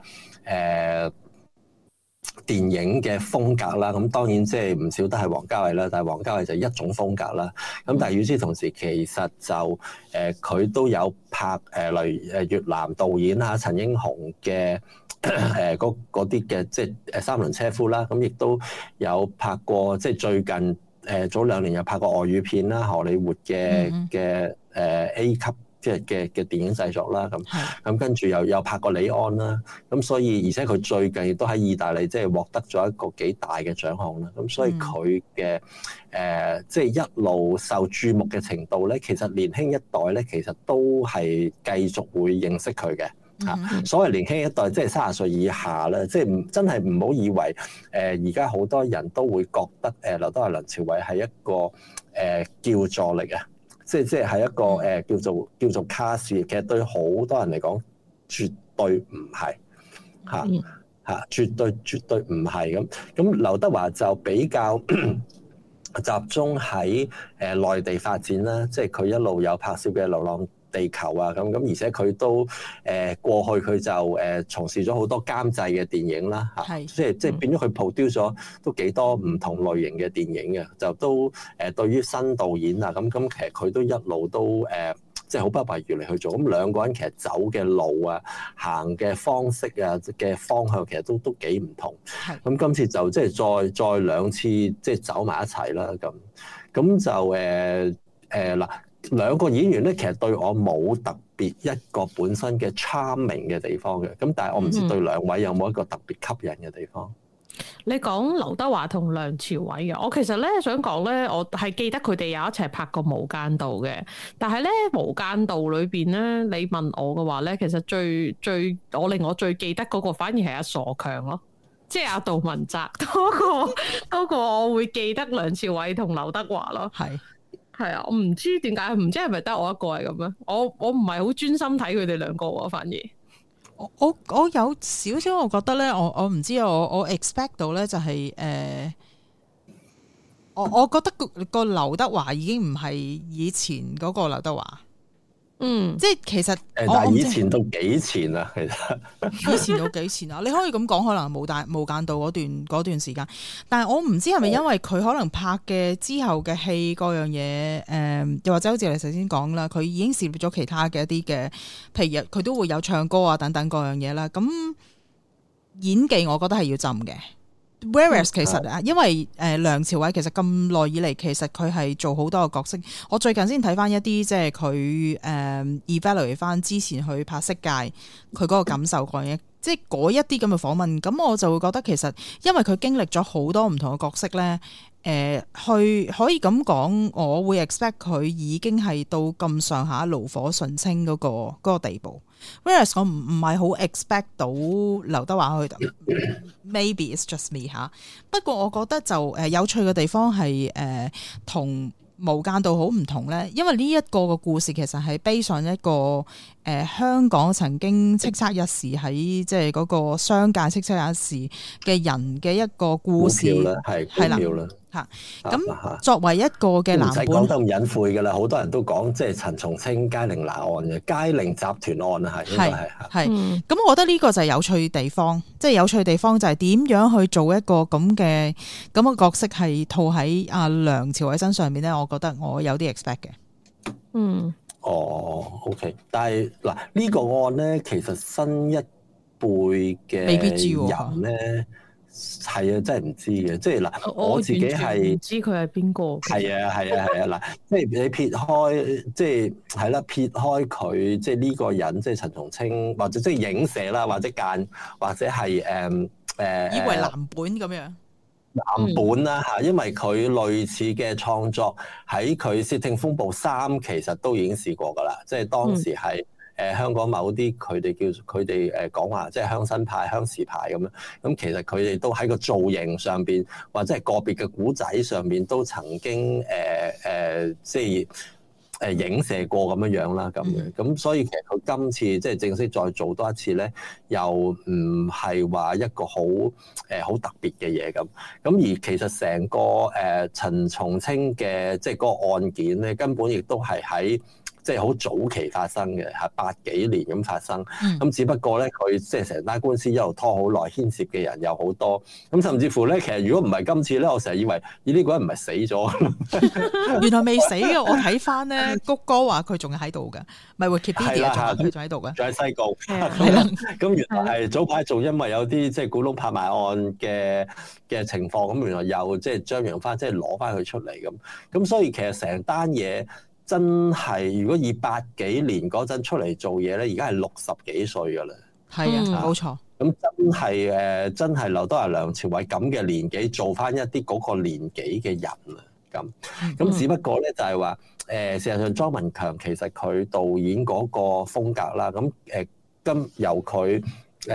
Speaker 4: 電影嘅風格啦，咁當然即係唔少得係王家衛啦，但係王家衛就一種風格啦。咁但係與此同時，其實就佢都有拍例如越南導演啊陳英雄嘅嗰啲嘅即係三輪車夫啦，咁亦都有拍過即係最近早2年有拍過外語片啦，荷里活嘅A 級即係嘅電影製作啦，咁跟住又拍過李安啦，咁所以而且佢最近亦都喺意大利即係獲得咗一個幾大嘅獎項啦，咁所以佢嘅即係一路受注目嘅程度咧，其實年輕一代咧其實都係繼續會認識佢嘅嚇。所謂年輕一代即係30歲以下啦，即係真係唔好以為而家好多人都會覺得劉德華、梁朝偉係一個叫座嚟嘅。即係一個叫做卡士，其實對好多人嚟講，絕對唔係嚇，絕對唔係咁。咁劉德華就比較集中喺內地發展啦，即係佢一路有拍攝嘅《流浪地球》啊，咁而且佢都過去佢就從事咗好多監製嘅電影啦嚇，即係變咗佢 produce 咗都幾多唔同類型嘅電影嘅，就都對於新導演啊咁其實佢都一路都即係好不遺餘力去做。咁兩個人其實走嘅路啊、行嘅方式啊嘅方向其實都幾唔同。咁今次就即係再2次即係走埋一齊啦咁就嗱。2個演員咧，其實對我冇特別一個本身嘅 charming 嘅地方嘅，咁但係我唔知對2位有冇一個特別吸引嘅地方。
Speaker 2: 你講劉德華同梁朝偉嘅，我其實咧想講咧，我係記得佢哋有一齊拍過《無間道》嘅，但係咧《無間道》裏邊咧，你問我嘅話咧，其實最令我最記得嗰個反而係阿傻強咯，即係阿杜汶澤嗰個我會記得梁朝偉同劉德華咯。係啊，我唔知點解，唔知係咪得我一個係咁樣？我唔係好專心睇佢哋2個喎，反而
Speaker 1: 我有少少，我覺得咧，我唔知我 expect 到咧就係我覺得個劉德華已經唔係以前嗰個劉德華。即係其實
Speaker 4: 但係以前到幾前啊？其實
Speaker 1: 以前到幾前啊？你可以咁講，可能無間道嗰段時間，但係我唔知係咪因為佢可能拍嘅之後嘅戲嗰樣嘢，又或者好似你頭先講啦，佢已經涉獵咗其他嘅一啲嘅，譬如佢都會有唱歌啊等等嗰樣嘢啦。咁演技我覺得係要浸嘅。Whereas 其實因為梁朝偉其實咁耐以嚟，其實佢係做好多個角色。我最近先睇翻一啲即係佢evaluate 翻之前去拍《色戒》佢嗰個感受嗰樣嘢，即係嗰一啲咁嘅訪問。咁我就會覺得其實因為佢經歷咗好多唔同嘅角色咧，去可以咁講，我會 expect 佢已經係到咁上下爐火純青嗰個地步。 Whereas 我唔係好 expect 到劉德華去，maybe it's just me 嚇。不過我覺得就有趣嘅地方係同無間道好唔同咧，因為呢一個嘅故事其實係背上一個香港曾經叱咤一時喺即係嗰個商界叱咤一時嘅人嘅一個故事，係啦嚇。咁作為一個嘅藍本，唔使講
Speaker 4: 得咁隱晦㗎啦，好多人都講即係陳松青佳寧拿案嘅佳寧集團案啊，係。咁
Speaker 1: 我覺得呢個就係有趣地方，即係有趣地方就係點樣去做一個咁嘅角色係套喺阿梁朝偉身上面咧，我覺得我有啲 expect 嘅。
Speaker 4: OK， 但係嗱呢個案咧，其實新一輩嘅
Speaker 1: 未必知
Speaker 4: 人咧。係啊，真係唔知嘅，即係嗱，我自己係
Speaker 2: 唔知佢係邊個。
Speaker 4: 係啊，嗱，即係你撇開，即係係啦，撇開佢，即係呢個人，即係陳松青，或者即係影射啦，或者係
Speaker 1: 以為藍本咁樣。
Speaker 4: 藍本啦嚇，因為佢類似嘅創作喺佢《竊聽風暴3》其實都已經試過㗎啦，即係當時係。香港某啲佢哋講話即係鄉紳派、鄉事派咁樣，咁其實佢哋都喺個造型上邊，或者係個別嘅古仔上邊都曾經即係影射過咁樣啦，咁樣咁所以其實佢今次即係正式再做多一次咧，又唔係話一個好特別嘅嘢咁。咁而其實成個陳松青嘅即係嗰個案件咧，根本亦都係喺即係好早期發生嘅，係80幾年咁發生。咁只不過咧，佢即係成單官司一路拖好耐，牽涉嘅人有好多。咁甚至乎咧，其實如果唔係今次咧，我成日以為呢個人唔係死咗，
Speaker 1: 原來未死嘅。我睇翻咧，谷歌話佢仲喺度嘅，咪 Wikipedia 佢仲喺度嘅，
Speaker 4: 仲喺西貢。係啦，咁原來係早排仲因為有啲即係古董拍賣案嘅情況，咁原來又即係張揚翻，即係攞翻佢出嚟咁。咁所以其實成單嘢。真係，如果以80幾年嗰陣出嚟做嘢咧，而家係60幾歲噶啦。
Speaker 1: 係啊，冇錯。
Speaker 4: 咁真係劉德華、梁朝偉咁嘅年紀做翻一啲嗰個年紀嘅人啊，咁只不過咧就係話事實上莊文強其實佢導演嗰個風格啦，咁由佢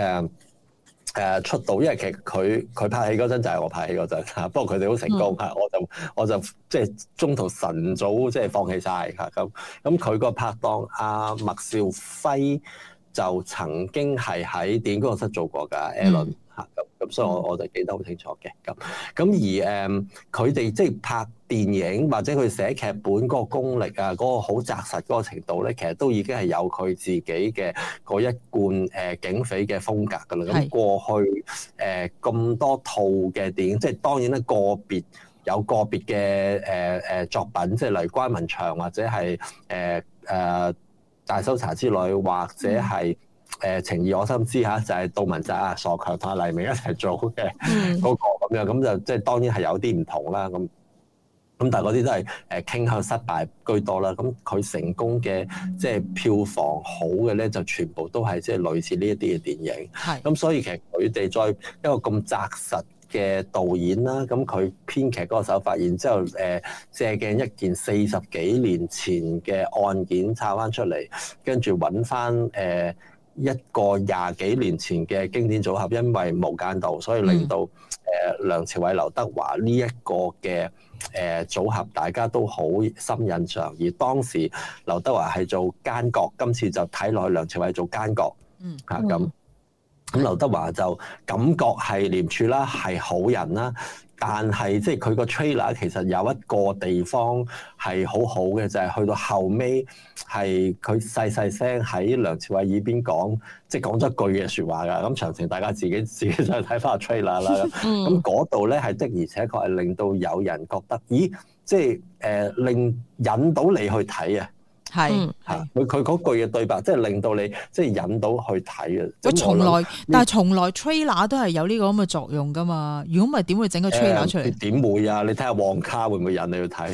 Speaker 4: 出道，因為其實佢拍戲嗰陣就係我拍戲嗰陣嚇，不過佢哋好成功嚇，我就即係中途晨早即係放棄晒嚇咁佢個拍檔阿麥兆輝就曾經係喺電影工作室做過㗎 Alan 嚇咁所以我就記得好清楚嘅咁而佢哋即係拍電影或者佢寫劇本嗰個功力啊，嗰個好紮實嗰個程度咧，其實都已經係有佢自己嘅嗰一貫警匪嘅風格㗎啦。咁過去咁多套嘅電影，即係當然咧有個別嘅作品，即係例如關雲長或者係大搜查之類，或者係情義我心知嚇，就係杜汶澤啊、傻強同黎明一齊做嘅嗰個咁樣，咁就即係當然係有啲唔同啦咁。咁但係嗰啲都係傾向失敗居多啦。咁佢成功嘅即係票房好嘅咧，就全部都係即係類似呢一啲嘅電影。係。咁所以其實佢哋再一個咁紮實嘅導演啦，咁佢編劇嗰個手法，然之後借鏡一件40幾年前嘅案件抄翻出嚟，跟住揾翻一個20幾年前嘅經典組合，因為無間道，所以令到梁朝偉、劉德華呢一個嘅組合大家都好深印象。而當時劉德華係做奸角，今次就睇落去梁朝偉做奸角，咁劉德華就感覺係廉署啦，係好人啦。但係即係佢個 trailer 其實有一個地方係好好嘅，就係去到後尾係佢細細聲喺梁朝偉耳邊講，即係講咗一句嘅説話㗎。咁詳情大家自己再睇翻個 trailer 啦。咁嗰度咧係的而且確係令到有人覺得，咦，即係引到你去睇啊！係嚇，佢嗰句嘅對白，即係令到你即係引到去睇啊！
Speaker 1: 但係從來 trailer 都係有呢個咁嘅作用噶嘛。如果唔係點會整個 trailer 出嚟？
Speaker 4: 點會啊？你睇下旺卡會唔會引你去睇？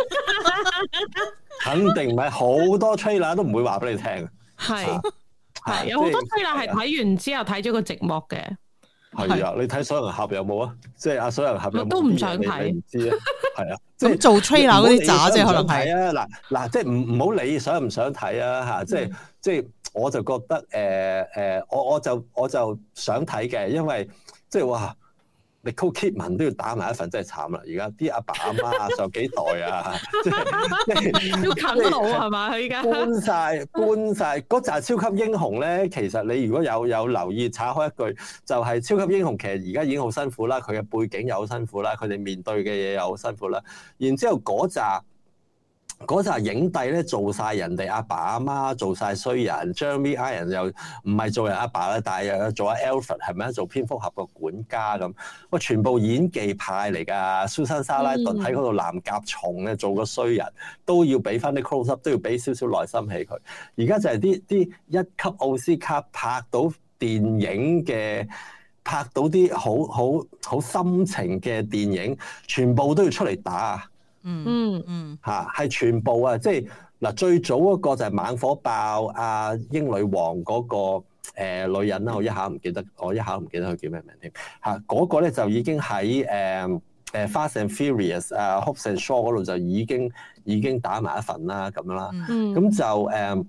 Speaker 4: 肯定唔係，好多 trailer 都唔會話俾你聽。
Speaker 2: 係有好多 trailer 係睇完之後睇咗個寂寞嘅。
Speaker 4: 係啊，你睇水行俠有冇啊？即係阿水行俠有冇？
Speaker 2: 都唔想睇，
Speaker 4: 唔知啊。係啊，
Speaker 1: 咁做 trailer 嗰啲渣啫，可能係
Speaker 4: 啊。嗱，即係唔好理想唔想睇啊嚇。即係即係我就覺得我就想睇嘅，因為即係哇。Nicole Kidman 都要打埋一份，真係慘啦！而家啲阿爸阿媽受幾代啊，即係
Speaker 2: 要啃老係嘛？佢而家
Speaker 4: 搬晒嗰紮超級英雄咧。其實你如果有留意，查開一句，就係、是、超級英雄其實而家已經好辛苦啦，佢嘅背景又好辛苦啦，佢哋面對嘅嘢又好辛苦啦。然之後嗰紮影帝咧做晒人哋阿爸阿媽，做晒衰人。Jeremy Irons 又唔係做人阿爸啦，但係又做阿 Alfred 係咪啊？做蝙蝠俠個管家咁，喂，全部演技派嚟㗎。Susan Sarandon喺嗰度藍甲蟲咧做個衰人，都要俾翻啲 close up，都要俾少少內心戲佢。而家就係啲一級奧斯卡拍到電影嘅，拍到啲好深情嘅電影，全部都要出嚟打。係全部啊！即係嗱，最早嗰個就係猛火爆阿英女王嗰個女人啦，我一下唔記得佢叫咩名添嚇。嗰個咧就已經喺Fast and Furious 啊 Hobbs and Shaw 嗰度就已經打埋一份啦咁樣啦。咁就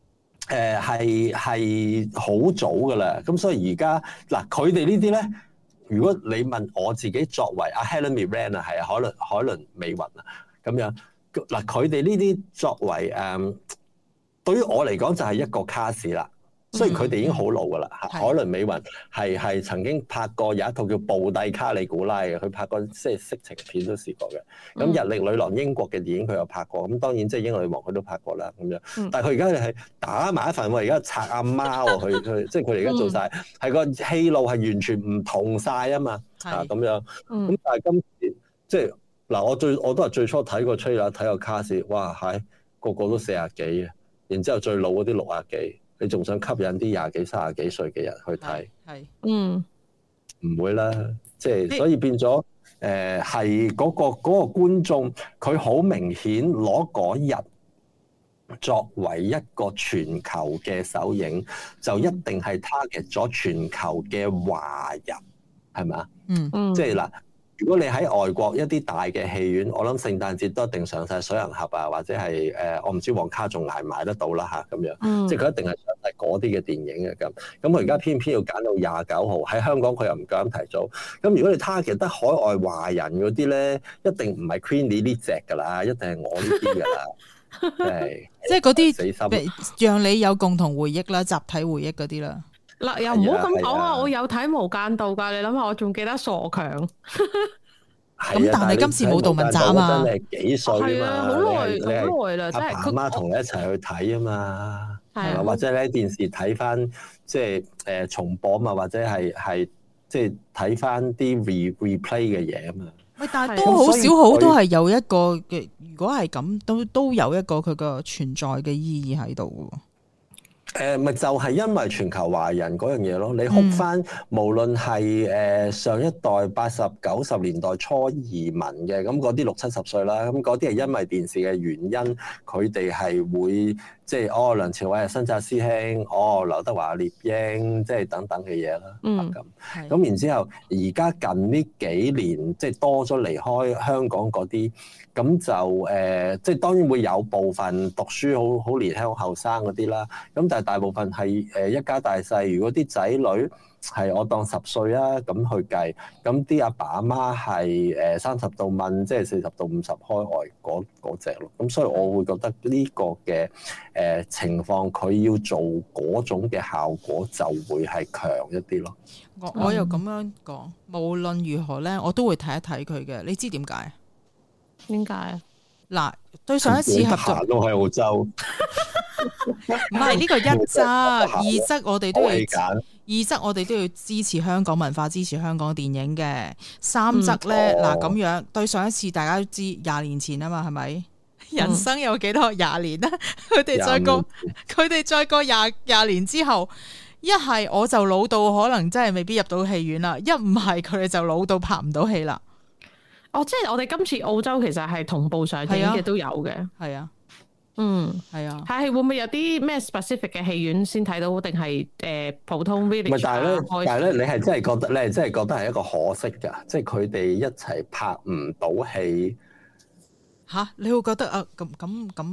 Speaker 4: 係好早噶啦。咁所以而家嗱，佢哋呢啲咧。如果你問我自己作為阿 Helen Mirren 啊，係啊，海倫美雲啊咁樣嗱，佢哋呢啲作為對於我嚟講就係一個卡士啦。雖然佢哋已經好老噶啦，海倫美雲係曾經拍過有一套叫《布蒂卡里古拉》嘅，佢拍過即係色情片都試過嘅。咁《日曆女郎》英國嘅電影佢有拍過，咁當然即係英女王佢都拍過啦咁樣。但係佢而家係打埋一份喎，而家拆阿媽喎，佢即係佢哋而家做晒，係個戲路係完全唔同晒啊嘛，啊咁樣。咁但係今次即係嗱，我都係最初睇個 trailer 睇個卡士，哇係個個都40幾嘅，然之後最老嗰啲60幾。你仲想吸引啲20幾、30幾歲嘅人去睇？唔會啦，即係所以變咗係嗰個觀眾，佢好明顯攞嗰日作為一個全球嘅首映，就一定係 target 咗全球嘅華人，係咪啊？即係嗱。如果你喺外國一啲大嘅戲院，我諗聖誕節都一定上晒水行俠啊，或者係我唔知黃卡仲捱唔捱得到啦嚇咁樣，即係佢一定係上晒嗰啲嘅電影嘅咁。咁佢而家偏偏要揀到29號喺香港，佢又唔夠膽提早。咁如果你 target 得海外華人嗰啲咧，一定唔係 Queenie 呢隻㗎啦，一定係我呢啲㗎啦，
Speaker 1: 即係嗰啲讓你有共同回憶啦、集體回憶嗰啲啦。
Speaker 2: 嗱，又唔好咁講啊！我有睇《無間道》㗎，你諗下，我仲記得傻強。
Speaker 1: 咁但係今次冇杜汶澤啊嘛，
Speaker 4: 真係幾歲啊嘛？
Speaker 2: 好耐啦，真係
Speaker 4: 阿爸媽同你一齊去睇啊嘛，係嘛？或者你喺電視睇翻，即係重播啊嘛，或者係即係睇翻啲 replay 嘅嘢啊嘛。喂，
Speaker 1: 但係都好少好都係有一個嘅，如果係咁，都有一個佢個存在嘅意義喺度。
Speaker 4: 咪就係因為全球華人嗰樣嘢咯，你哭翻，無論係上一代80、90年代初移民嘅，咁嗰啲60、70歲啦，咁嗰啲係因為電視嘅原因，佢哋係會即係梁朝偉係新紮師兄，劉德華獵鷹，即係等等嘅嘢啦，咁然之後，而家近呢幾年即係多咗離開香港嗰啲。咁就即係當然會有部分讀書好年輕、好後生嗰啲啦。咁但係大部分係一家大細。如果啲仔女係我當10歲啊咁去計，咁啲阿爸阿媽係30到問，即係40到50開外嗰隻咯。咁所以我會覺得呢個嘅情況，佢要做嗰種嘅效果就會係強一啲咯。
Speaker 1: 我又咁樣講，無論如何咧，我都會睇一睇佢嘅。你知點解？
Speaker 2: 點解啊？
Speaker 1: 嗱，對上一次合作
Speaker 4: 都喺澳洲，
Speaker 1: 唔係呢個一則，二則我哋都要二則我哋都要支持香港文化，支持香港電影嘅。三則咧，嗱咁樣，對上一次大家都知20年前啊嘛，係咪？人生有幾多20年啊？佢哋再過廿年之後，一係我就老到可能真係未必入到戲院啦，一唔係佢哋就老到拍唔到戲啦。
Speaker 2: 即係我哋今次澳洲其實係同步上映嘅都有嘅，
Speaker 1: 係啊，係啊，
Speaker 2: 係會唔會有啲咩 specific 嘅戲院先睇到，定係普通 village？
Speaker 4: 但係咧，你係真係覺得，係一個可惜㗎，即係佢哋一齊拍唔到戲。
Speaker 1: 嚇，你會覺得啊？咁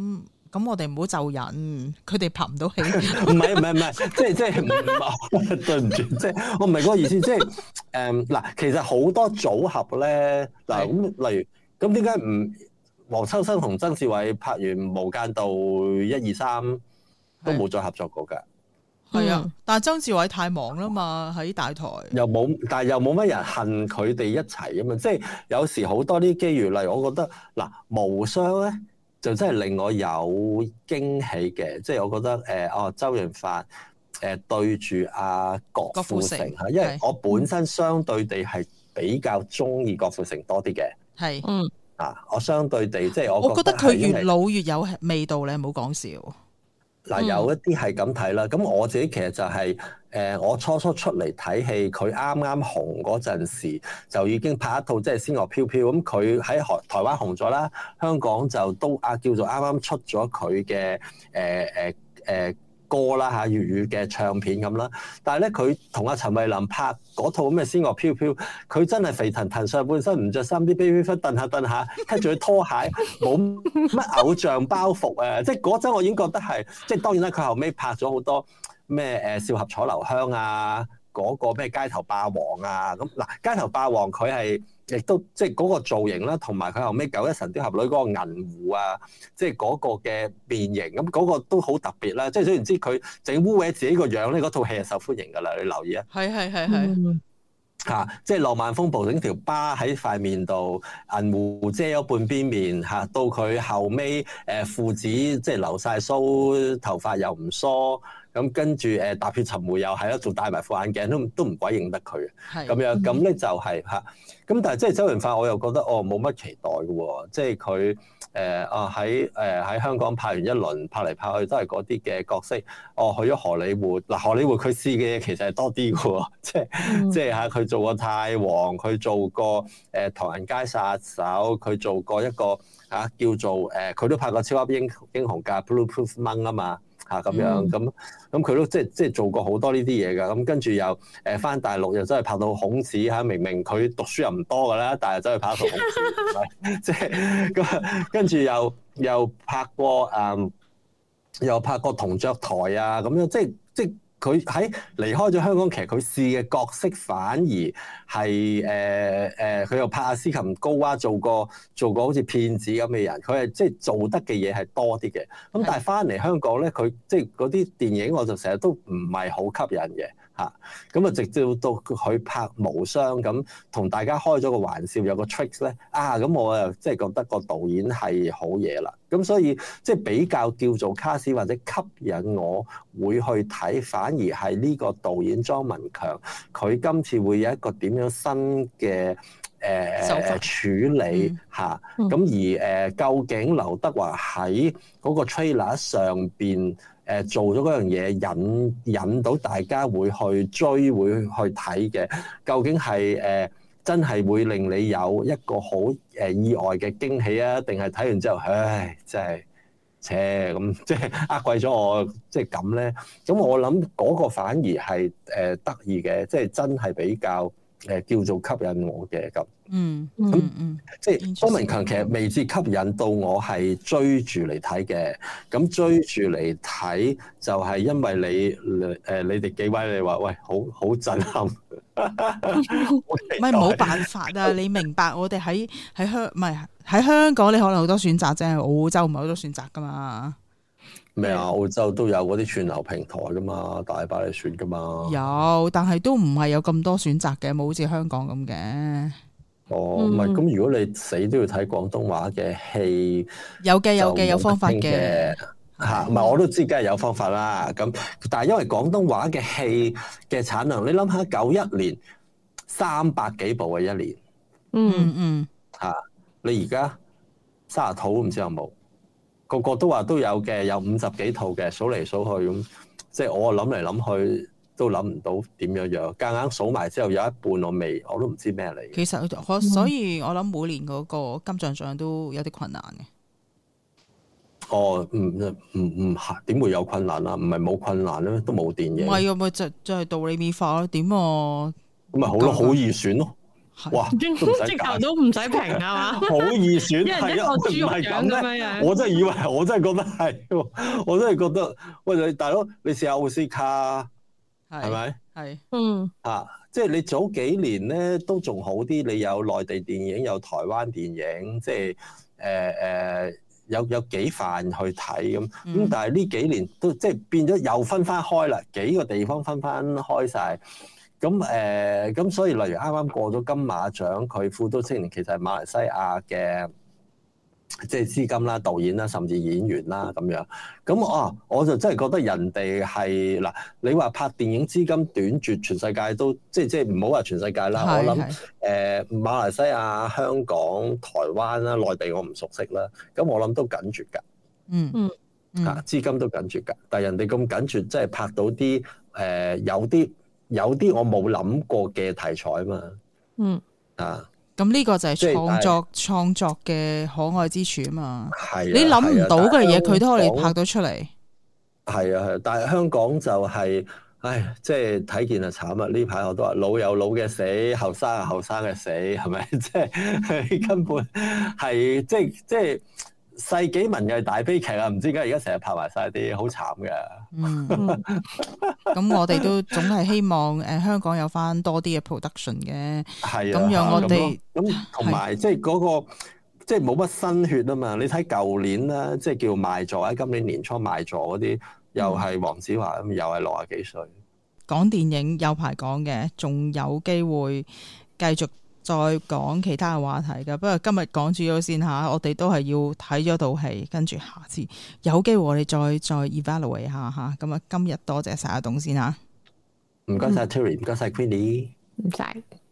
Speaker 1: 咁我哋唔好就人，佢哋拍唔到戲。
Speaker 4: 唔係，即係對唔住，即係我唔係嗰個意思，即係嗱，其實好多組合咧，嗱咁例如咁點解唔黃秋生同曾志偉拍完《無間道》1、2、3都冇再合作過㗎？
Speaker 1: 係啊，但係曾志偉太忙啦嘛，喺大台
Speaker 4: 但係又冇乜人恨佢哋一齊啊嘛，即係有時好多啲機遇，例如我覺得嗱，無雙咧就真係令我有驚喜嘅，即係我覺得周潤發對住阿郭富城嚇，因為我本身相對地係比較中意郭富城多啲嘅，
Speaker 1: 係
Speaker 4: 我相對地即係
Speaker 1: 我覺得佢越老越有味道咧，唔好講笑。
Speaker 4: 嗱，有一啲係咁睇啦，咁我自己其實就係我初初出嚟睇戲，佢啱啱紅嗰陣時就已經拍一套即係《仙樂飄飄》，咁佢喺台灣紅咗啦，香港就都叫做啱啱出咗佢嘅歌啦嚇，粵語嘅唱片咁啦，但係咧佢同阿陳慧琳拍嗰套咩《仙樂飄飄》，佢真係肥騰騰上半身唔着衫，啲 baby 忽蹬下，跟住佢拖鞋，冇乜偶像包袱啊！即係嗰陣我已經覺得係，即係當然啦，佢後尾拍咗好多咩少俠楚留香啊，嗰個咩街頭霸王啊，咁嗱街頭霸王佢係。亦都即係嗰個造型啦，同埋佢後尾九一神鵰俠侶嗰個銀狐啊，即係嗰個嘅變形，咁嗰個都好特別啦。即係總言之，佢整污穢自己個樣咧，嗰套戲係受歡迎㗎啦。你留意啊，
Speaker 1: 係
Speaker 4: 即係浪漫風暴整條疤喺塊面度，銀狐遮咗半邊面嚇，到佢後尾父子即係留晒鬚，頭髮又唔梳。咁跟住踏血尋梅又係啦，仲戴埋副眼鏡，都唔鬼認得佢嘅，咁樣咁咧就係嚇。咁但係即係周潤發，我又覺得冇乜期待嘅喎，即係佢喺香港拍完一輪，拍嚟拍去都係嗰啲嘅角色。去咗荷里活，嗱荷里活佢試嘅嘢其實係多啲嘅喎，即係嚇佢做過泰王，佢做過唐人街殺手，佢做過一個叫做佢都拍過超級英雄㗎 Blueproof Monk 啊嘛。咁樣咁佢都即係做過好多呢啲嘢㗎，咁跟住又返大陸又真係拍到孔子嚇，明明佢讀書又唔多㗎啦，但係真係拍到孔子，即係咁跟住又拍過又拍過銅雀台啊咁樣，即係佢喺離開咗香港，其實佢試嘅角色反而係佢又拍阿斯琴高娃，做過好似騙子咁嘅人，佢係即係做得嘅嘢係多啲嘅。咁但係翻嚟香港咧，佢即係嗰啲電影我就成日都唔係好吸引嘅嚇。咁啊直至到佢拍無雙咁，同大家開咗個玩笑，有個 tricks 咧咁我又即係覺得個導演係好嘢啦。咁所以即係比較叫做卡士或者吸引我會去睇，反而係呢個導演莊文強，佢今次會有一個點樣新嘅處理嚇。咁而究竟劉德華喺嗰個 trailer 上邊做咗嗰樣嘢，引到大家會去追會去睇嘅，究竟係真係會令你有一個好意外嘅驚喜啊？定係睇完之後，唉，真係咁，即係呃鬼咗我，即係咁咧？咁我諗嗰個反而係得意嘅，即係真係比較叫做吸引我嘅咁。即係莊文強其實未至吸引到我係追住嚟睇嘅。咁追住嚟睇就係因為你哋幾位你話喂好震撼。
Speaker 1: 唔係冇辦法啊！你明白我哋喺香港，你可能好多選擇啫，澳洲唔係好多選擇噶嘛。
Speaker 4: 咩啊？澳洲都有嗰啲串流平台噶嘛，大把你選噶嘛。
Speaker 1: 有，但係都唔係有咁多選擇嘅，冇好似香港咁嘅。
Speaker 4: 唔係咁，如果你死都要睇廣東話嘅戲，
Speaker 1: 有嘅，有方法嘅
Speaker 4: 嚇。唔係我都知，梗係有方法啦。咁但係因為廣東話嘅戲嘅產量，你諗下91年300幾部嘅一年，你而家30套都唔知有冇，個個都話都有嘅，有50幾套嘅，數嚟數去咁，即係我諗嚟諗去都諗唔到點樣，夾硬數埋之後有一半我都唔知咩嚟。其
Speaker 1: 實所以我諗每年嗰個金像獎都有啲困難嘅。
Speaker 4: 唔點會有困難啊？唔係冇困難咧，都冇電影。
Speaker 1: 唔係咪就係道理美化咯？點啊？
Speaker 4: 咁咪好咯，好易選咯。 哇，
Speaker 2: 直頭都唔使評啊嘛，
Speaker 4: 好易選，
Speaker 2: 係啊，唔係咁樣。
Speaker 4: 我真係以為，我真係覺得係，我真係覺得，喂，你大佬，你試下奧斯卡，係咪？
Speaker 1: 係，
Speaker 4: 即係你早幾年咧都仲好啲，你有內地電影，有台灣電影，即係有幾範去睇咁。但係呢幾年都即係變咗又分翻開啦，幾個地方分翻開晒。咁所以例如啱啱過咗金馬獎，佢《富都青年》其實係馬來西亞嘅，即係資金啦、導演啦，甚至演員啦咁樣。咁我就真係覺得人哋係嗱，你話拍電影資金短缺，全世界都即係唔好話全世界啦。我諗馬來西亞、香港、台灣啦、內地我唔熟悉啦。咁我諗都緊缺㗎。資金都緊缺㗎。但係人哋咁緊缺，即係拍到啲有啲我冇諗過嘅題材嘛。
Speaker 1: 咁呢個就係創作嘅可愛之處啊嘛。
Speaker 4: 係
Speaker 1: 你諗唔到嘅嘢，佢都可以拍到出嚟。
Speaker 4: 係啊，但係香港就係，即係睇見就慘啊！呢排我都話老有老嘅死，後生有後生嘅死，係咪？即係根本係即係世紀文藝大悲劇啊！唔知點解而家成日拍埋晒啲好慘嘅。
Speaker 1: 咁我哋都總係希望香港有翻多啲嘅 production 嘅。係啊，咁讓我哋
Speaker 4: 咁同埋即係嗰個即係冇乜新血啊嘛！你睇舊年啦，即係叫賣座啊，今年年初賣座嗰啲又係黃子華咁，又係60幾歲。
Speaker 1: 講電影有排講嘅，仲有機會繼續再講其他嘅話題㗎。不過今日講住咗先吓，我哋都係要睇咗套戲，跟住下次有機會我哋再 evaluate 下吓。咁啊，今日多謝晒阿董先吓，
Speaker 4: 唔該晒 Terry，唔該晒 Queenie，
Speaker 2: 唔使。